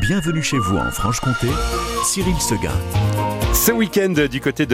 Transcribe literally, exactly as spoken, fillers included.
Bienvenue chez vous en Franche-Comté, Cyril Seguin. Ce week-end du côté de